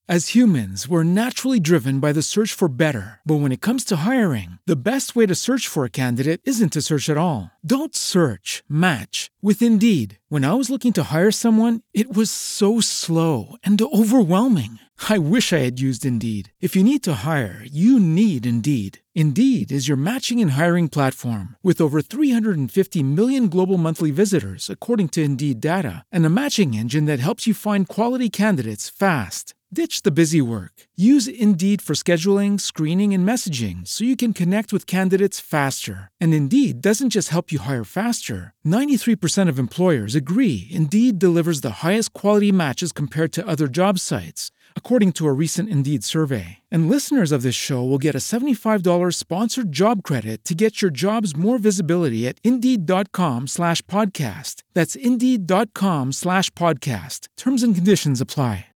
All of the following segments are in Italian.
As humans, we're naturally driven by the search for better. But when it comes to hiring, the best way to search for a candidate isn't to search at all. Don't search, match with Indeed. When I was looking to hire someone, it was so slow and overwhelming. I wish I had used Indeed. If you need to hire, you need Indeed. Indeed is your matching and hiring platform with over 350 million global monthly visitors, according to Indeed data, and a matching engine that helps you find quality candidates fast. Ditch the busy work. Use Indeed for scheduling, screening, and messaging so you can connect with candidates faster. And Indeed doesn't just help you hire faster. 93% of employers agree Indeed delivers the highest quality matches compared to other job sites, according to a recent Indeed survey. And listeners of this show will get a $75 sponsored job credit to get your jobs more visibility at Indeed.com/podcast. That's Indeed.com/podcast. Terms and conditions apply.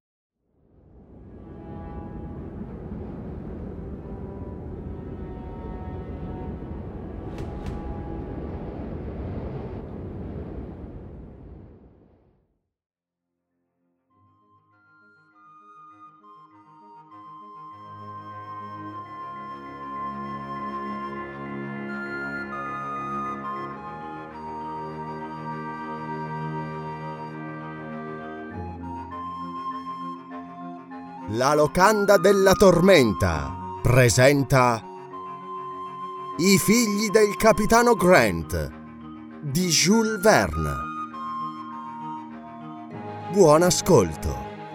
La locanda della tormenta presenta I figli del capitano Grant di Jules Verne. Buon ascolto.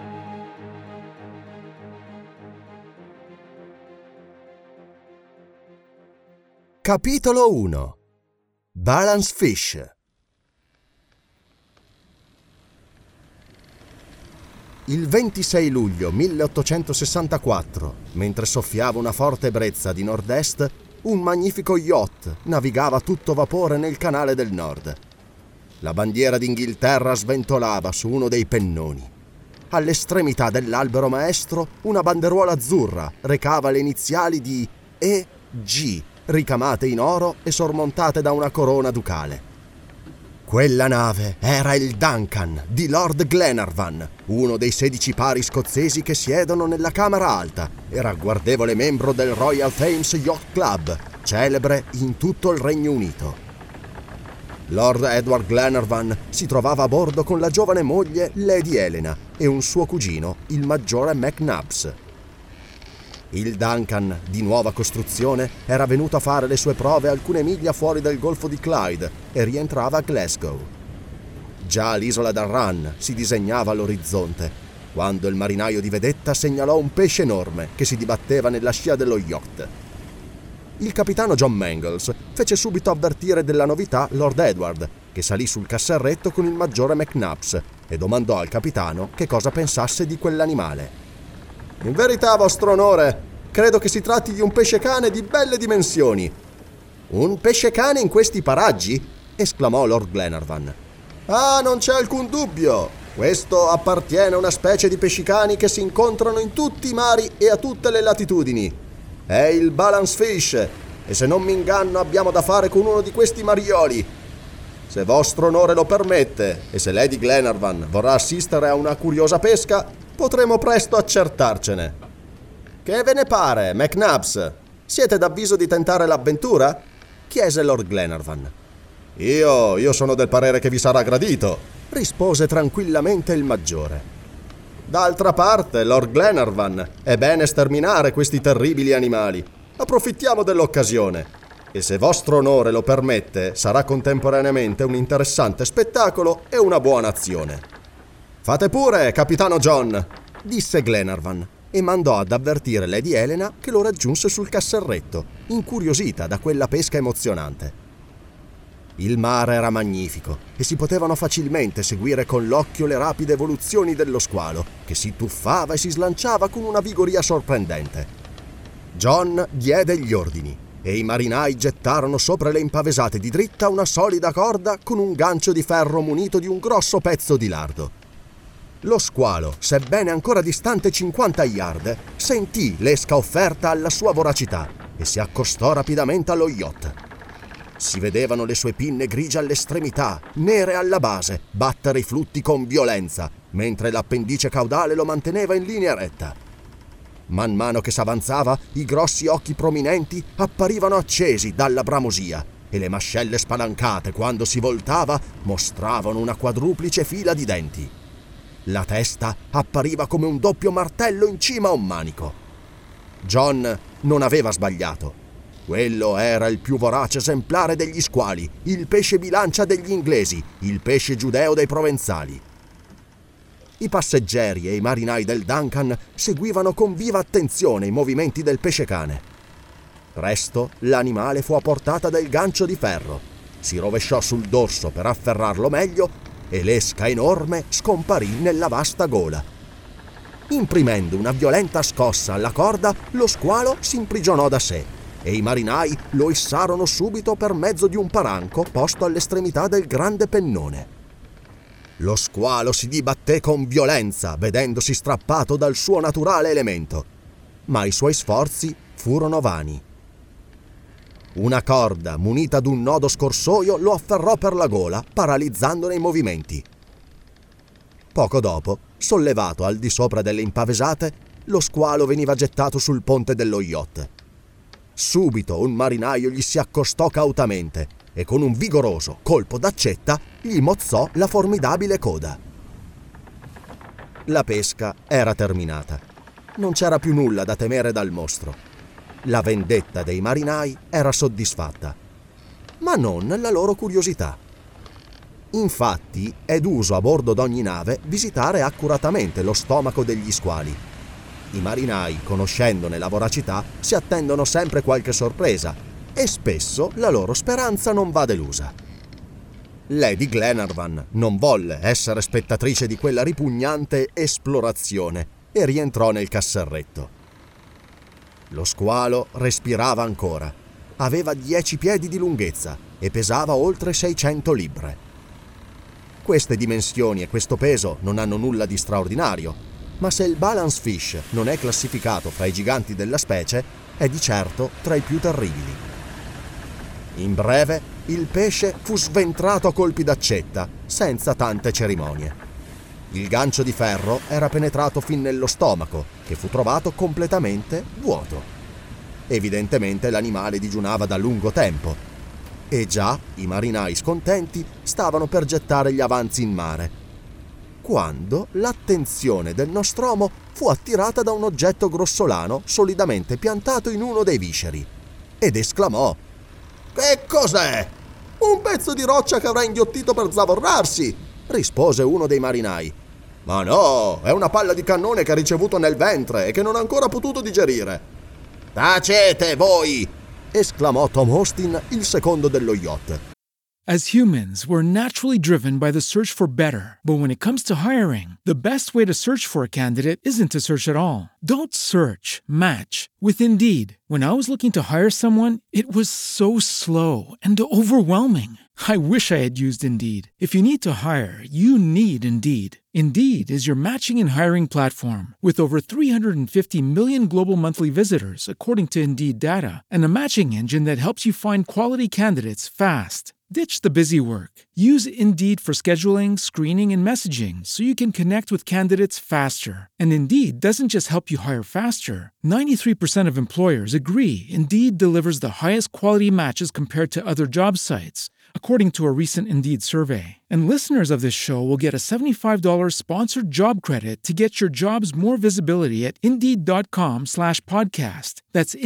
Capitolo 1. Balance Fish. Il 26 luglio 1864, mentre soffiava una forte brezza di nord-est, un magnifico yacht navigava a tutto vapore nel canale del Nord. La bandiera d'Inghilterra sventolava su uno dei pennoni. All'estremità dell'albero maestro, una banderuola azzurra recava le iniziali di E.G., ricamate in oro e sormontate da una corona ducale. Quella nave era il Duncan di Lord Glenarvan, uno dei 16 pari scozzesi che siedono nella Camera Alta e ragguardevole membro del Royal Thames Yacht Club, celebre in tutto il Regno Unito. Lord Edward Glenarvan si trovava a bordo con la giovane moglie Lady Helena e un suo cugino, il maggiore McNabbs. Il Duncan, di nuova costruzione, era venuto a fare le sue prove alcune miglia fuori del golfo di Clyde e rientrava a Glasgow. Già l'isola d'Arran si disegnava all'orizzonte, quando il marinaio di vedetta segnalò un pesce enorme che si dibatteva nella scia dello yacht. Il capitano John Mangles fece subito avvertire della novità Lord Edward, che salì sul casserretto con il maggiore McNabbs e domandò al capitano che cosa pensasse di quell'animale. «In verità, vostro onore, credo che si tratti di un pesce cane di belle dimensioni». «Un pesce cane in questi paraggi?» esclamò Lord Glenarvan. «Ah, non c'è alcun dubbio. Questo appartiene a una specie di pescicani che si incontrano in tutti i mari e a tutte le latitudini. È il balance fish, e se non mi inganno abbiamo da fare con uno di questi marioli. Se vostro onore lo permette, e se Lady Glenarvan vorrà assistere a una curiosa pesca, potremo presto accertarcene». «Che ve ne pare, McNabbs? Siete d'avviso di tentare l'avventura?» chiese Lord Glenarvan. Io sono del parere che vi sarà gradito», rispose tranquillamente il maggiore. «D'altra parte, Lord Glenarvan, è bene sterminare questi terribili animali. Approfittiamo dell'occasione. E se vostro onore lo permette, sarà contemporaneamente un interessante spettacolo e una buona azione». «Fate pure, capitano John», disse Glenarvan, e mandò ad avvertire Lady Helena che lo raggiunse sul casserretto, incuriosita da quella pesca emozionante. Il mare era magnifico e si potevano facilmente seguire con l'occhio le rapide evoluzioni dello squalo, che si tuffava e si slanciava con una vigoria sorprendente. John diede gli ordini e i marinai gettarono sopra le impavesate di dritta una solida corda con un gancio di ferro munito di un grosso pezzo di lardo. Lo squalo, sebbene ancora distante 50 yard, sentì l'esca offerta alla sua voracità e si accostò rapidamente allo yacht. Si vedevano le sue pinne grigie all'estremità, nere alla base, battere i flutti con violenza, mentre l'appendice caudale lo manteneva in linea retta. Man mano che s'avanzava, i grossi occhi prominenti apparivano accesi dalla bramosia e le mascelle spalancate, quando si voltava, mostravano una quadruplice fila di denti. La testa appariva come un doppio martello in cima a un manico. John non aveva sbagliato. Quello era il più vorace esemplare degli squali, il pesce bilancia degli inglesi, il pesce giudeo dei provenzali. I passeggeri e i marinai del Duncan seguivano con viva attenzione i movimenti del pesce cane. Presto l'animale fu a portata del gancio di ferro, si rovesciò sul dorso per afferrarlo meglio e l'esca enorme scomparì nella vasta gola. Imprimendo una violenta scossa alla corda, lo squalo si imprigionò da sé e i marinai lo issarono subito per mezzo di un paranco posto all'estremità del grande pennone. Lo squalo si dibatté con violenza, vedendosi strappato dal suo naturale elemento, ma i suoi sforzi furono vani. Una corda munita d'un nodo scorsoio lo afferrò per la gola, paralizzandone i movimenti. Poco dopo, sollevato al di sopra delle impavesate, lo squalo veniva gettato sul ponte dello yacht. Subito un marinaio gli si accostò cautamente e con un vigoroso colpo d'accetta gli mozzò la formidabile coda. La pesca era terminata. Non c'era più nulla da temere dal mostro. La vendetta dei marinai era soddisfatta, ma non la loro curiosità. Infatti, è d'uso a bordo d'ogni nave visitare accuratamente lo stomaco degli squali. I marinai, conoscendone la voracità, si attendono sempre qualche sorpresa e spesso la loro speranza non va delusa. Lady Glenarvan non volle essere spettatrice di quella ripugnante esplorazione e rientrò nel casserretto. Lo squalo respirava ancora. Aveva 10 piedi di lunghezza e pesava oltre 600 libbre. Queste dimensioni e questo peso non hanno nulla di straordinario, ma se il balance fish non è classificato fra i giganti della specie, è di certo tra i più terribili. In breve, il pesce fu sventrato a colpi d'accetta, senza tante cerimonie. Il gancio di ferro era penetrato fin nello stomaco, che fu trovato completamente vuoto. Evidentemente l'animale digiunava da lungo tempo, e già i marinai scontenti stavano per gettare gli avanzi in mare, quando l'attenzione del Nostromo fu attirata da un oggetto grossolano solidamente piantato in uno dei visceri, ed esclamò: «Che cos'è?» «Un pezzo di roccia che avrà inghiottito per zavorrarsi», rispose uno dei marinai. «Ma no, è una palla di cannone che ha ricevuto nel ventre e che non ha ancora potuto digerire». «Tacete voi!» esclamò Tom Austin, il secondo dello yacht. As humans, we're naturally driven by the search for better. But when it comes to hiring, the best way to search for a candidate isn't to search at all. Don't search, match with Indeed. When I was looking to hire someone, it was so slow and overwhelming. I wish I had used Indeed. If you need to hire, you need Indeed. Indeed is your matching and hiring platform with over 350 million global monthly visitors, according to Indeed data, and a matching engine that helps you find quality candidates fast. Ditch the busy work. Use Indeed for scheduling, screening, and messaging so you can connect with candidates faster. And Indeed doesn't just help you hire faster. 93% of employers agree Indeed delivers the highest quality matches compared to other job sites, according to a recent Indeed survey. And listeners of this show will get a $75 sponsored job credit to get your jobs more visibility at Indeed.com/podcast. That's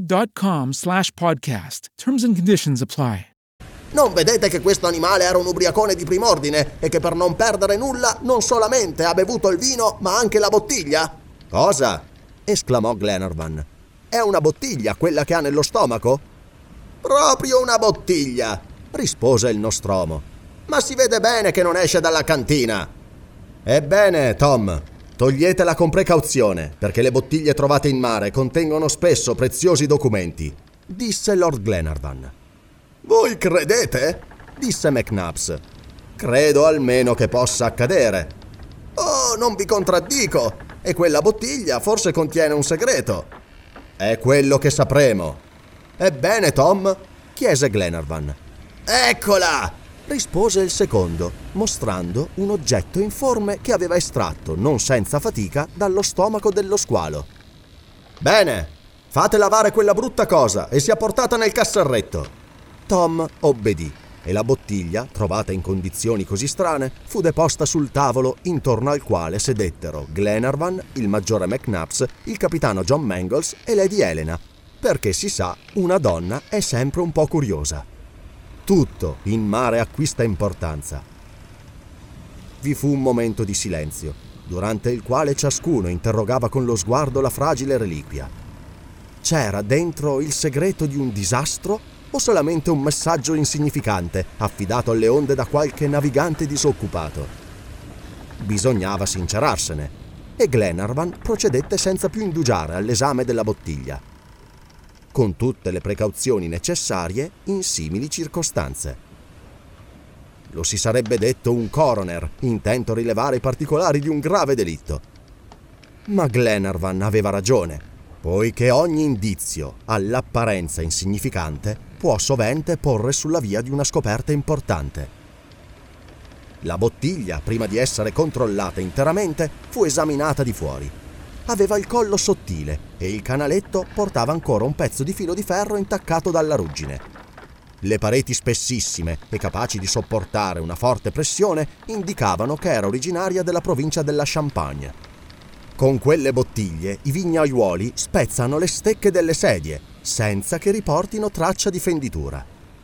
Indeed.com/podcast. Terms and conditions apply. Non vedete che questo animale era un ubriacone di prim'ordine e che per non perdere nulla non solamente ha bevuto il vino ma anche la bottiglia? Cosa? Esclamò Glenarvan. È una bottiglia quella che ha nello stomaco? Proprio una bottiglia, rispose il Nostromo. Ma si vede bene che non esce dalla cantina. Ebbene, Tom, toglietela con precauzione, perché le bottiglie trovate in mare contengono spesso preziosi documenti, disse Lord Glenarvan. Voi credete? Disse McNabbs. Credo almeno che possa accadere. Oh, non vi contraddico. E quella bottiglia forse contiene un segreto. È quello che sapremo. Ebbene, Tom? Chiese Glenarvan. Eccola! Rispose il secondo, mostrando un oggetto informe che aveva estratto, non senza fatica, dallo stomaco dello squalo. Bene, fate lavare quella brutta cosa e sia portata nel casserretto. Tom obbedì e la bottiglia, trovata in condizioni così strane, fu deposta sul tavolo intorno al quale sedettero Glenarvan, il maggiore McNabbs, il capitano John Mangles e Lady Helena, perché si sa, una donna è sempre un po' curiosa. Tutto in mare acquista importanza. Vi fu un momento di silenzio, durante il quale ciascuno interrogava con lo sguardo la fragile reliquia. C'era dentro il segreto di un disastro o solamente un messaggio insignificante affidato alle onde da qualche navigante disoccupato? Bisognava sincerarsene e Glenarvan procedette senza più indugiare all'esame della bottiglia, con tutte le precauzioni necessarie in simili circostanze. Lo si sarebbe detto un coroner intento a rilevare i particolari di un grave delitto. Ma Glenarvan aveva ragione, poiché ogni indizio, all'apparenza insignificante, può sovente porre sulla via di una scoperta importante. La bottiglia, prima di essere controllata interamente, fu esaminata di fuori. Aveva il collo sottile e il canaletto portava ancora un pezzo di filo di ferro intaccato dalla ruggine. Le pareti spessissime e capaci di sopportare una forte pressione indicavano che era originaria della provincia della Champagne. Con quelle bottiglie i vignaiuoli spezzano le stecche delle sedie, senza che riportino traccia di fenditura.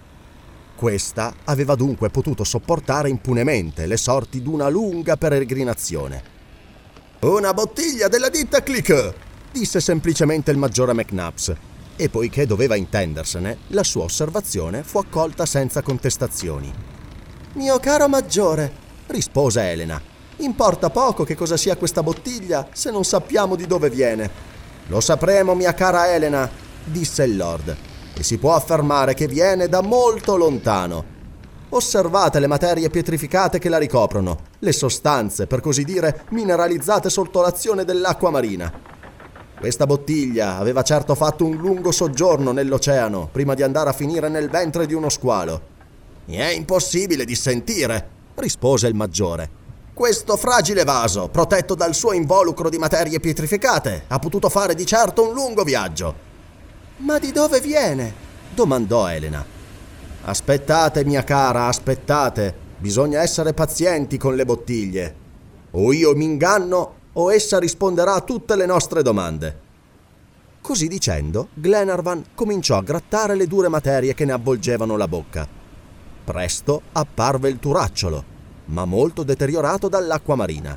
Questa aveva dunque potuto sopportare impunemente le sorti d'una lunga peregrinazione. «Una bottiglia della ditta Clique!» disse semplicemente il maggiore McNabbs, e poiché doveva intendersene, la sua osservazione fu accolta senza contestazioni. «Mio caro maggiore», rispose Helena, «importa poco che cosa sia questa bottiglia se non sappiamo di dove viene». «Lo sapremo, mia cara Helena», disse il Lord, «e si può affermare che viene da molto lontano. Osservate le materie pietrificate che la ricoprono, le sostanze, per così dire, mineralizzate sotto l'azione dell'acqua marina. Questa bottiglia aveva certo fatto un lungo soggiorno nell'oceano prima di andare a finire nel ventre di uno squalo». «Mi è impossibile dissentire», rispose il maggiore. «Questo fragile vaso, protetto dal suo involucro di materie pietrificate, ha potuto fare di certo un lungo viaggio». «Ma di dove viene?» domandò Helena. «Aspettate, mia cara, aspettate. Bisogna essere pazienti con le bottiglie. O io mi inganno o essa risponderà a tutte le nostre domande». Così dicendo, Glenarvan cominciò a grattare le dure materie che ne avvolgevano la bocca. Presto apparve il turacciolo, ma molto deteriorato dall'acqua marina.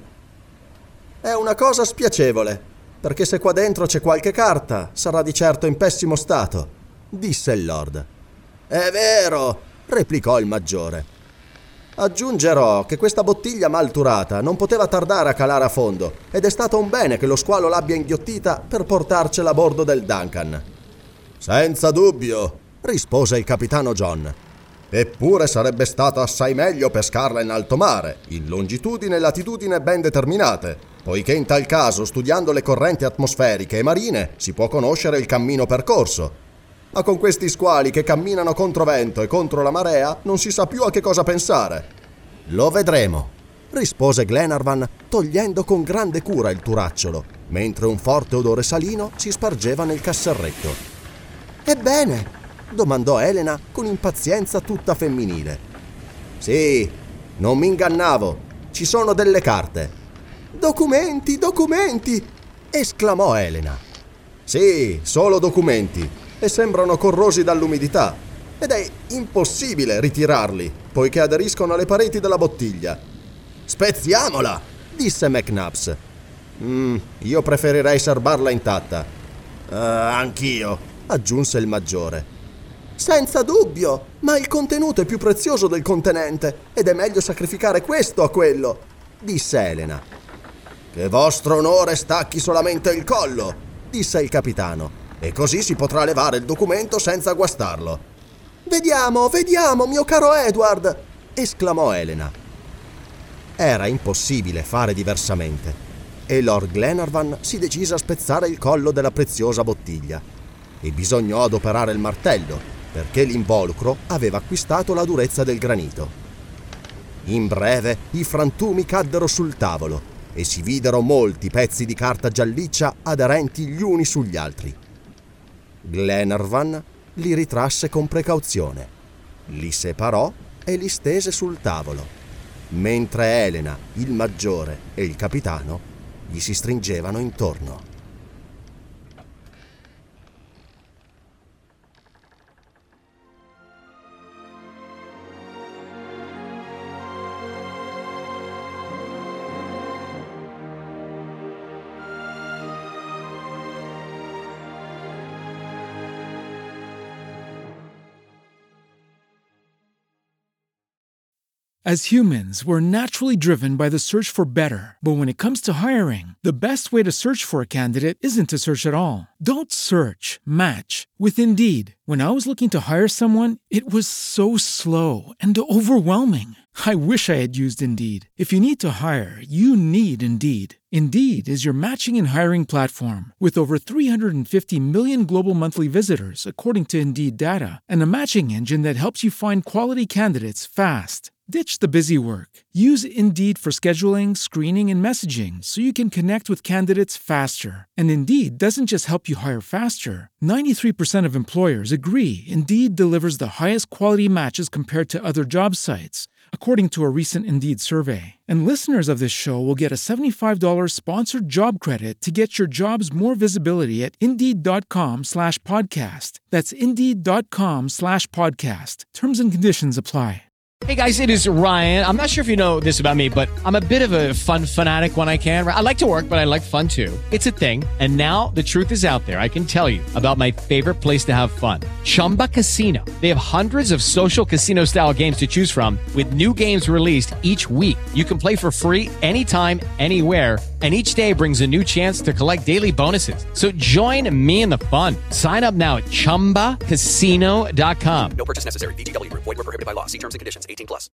«È una cosa spiacevole, perché se qua dentro c'è qualche carta, sarà di certo in pessimo stato», disse il Lord. «È vero», replicò il maggiore. «Aggiungerò che questa bottiglia malturata non poteva tardare a calare a fondo ed è stato un bene che lo squalo l'abbia inghiottita per portarcela a bordo del Duncan». «Senza dubbio», rispose il capitano John. «Eppure sarebbe stato assai meglio pescarla in alto mare, in longitudine e latitudine ben determinate, poiché in tal caso, studiando le correnti atmosferiche e marine, si può conoscere il cammino percorso. Ma con questi squali che camminano contro vento e contro la marea non si sa più a che cosa pensare». «Lo vedremo», rispose Glenarvan, togliendo con grande cura il turacciolo, mentre un forte odore salino si spargeva nel casserretto. «Ebbene?» domandò Helena con impazienza tutta femminile. «Sì, non mi ingannavo. Ci sono delle carte». «Documenti, documenti!» esclamò Helena. «Sì, solo documenti, e sembrano corrosi dall'umidità, ed è impossibile ritirarli, poiché aderiscono alle pareti della bottiglia». «Spezziamola!» disse McNabbs. Io preferirei serbarla intatta». «Anch'io», aggiunse il maggiore. «Senza dubbio, ma il contenuto è più prezioso del contenente, ed è meglio sacrificare questo a quello», disse Helena. «Che vostro onore stacchi solamente il collo», disse il capitano, «e così si potrà levare il documento senza guastarlo». Vediamo, mio caro Edward!» esclamò Helena. Era impossibile fare diversamente, e Lord Glenarvan si decise a spezzare il collo della preziosa bottiglia, e bisognò adoperare il martello, perché l'involucro aveva acquistato la durezza del granito. In breve, i frantumi caddero sul tavolo, e si videro molti pezzi di carta gialliccia aderenti gli uni sugli altri. Glenarvan li ritrasse con precauzione, li separò e li stese sul tavolo, mentre Elena, il maggiore e il capitano gli si stringevano intorno. As humans, we're naturally driven by the search for better. But when it comes to hiring, the best way to search for a candidate isn't to search at all. Don't search, match with Indeed. When I was looking to hire someone, it was so slow and overwhelming. I wish I had used Indeed. If you need to hire, you need Indeed. Indeed is your matching and hiring platform with over 350 million global monthly visitors, according to Indeed data, and a matching engine that helps you find quality candidates fast. Ditch the busy work. Use Indeed for scheduling, screening, and messaging so you can connect with candidates faster. And Indeed doesn't just help you hire faster. 93% of employers agree Indeed delivers the highest quality matches compared to other job sites, according to a recent Indeed survey. And listeners of this show will get a $75 sponsored job credit to get your jobs more visibility at Indeed.com/podcast. That's Indeed.com/podcast. Terms and conditions apply. Hey guys, it is Ryan. I'm not sure if you know this about me, but I'm a bit of a fun fanatic when I can. I like to work, but I like fun too. It's a thing. And now the truth is out there. I can tell you about my favorite place to have fun. Chumba Casino. They have hundreds of social casino style games to choose from with new games released each week. You can play for free anytime, anywhere. And each day brings a new chance to collect daily bonuses. So join me in the fun. Sign up now at ChumbaCasino.com. No purchase necessary. VGW Group. Void where prohibited by law. See terms and conditions. 18+.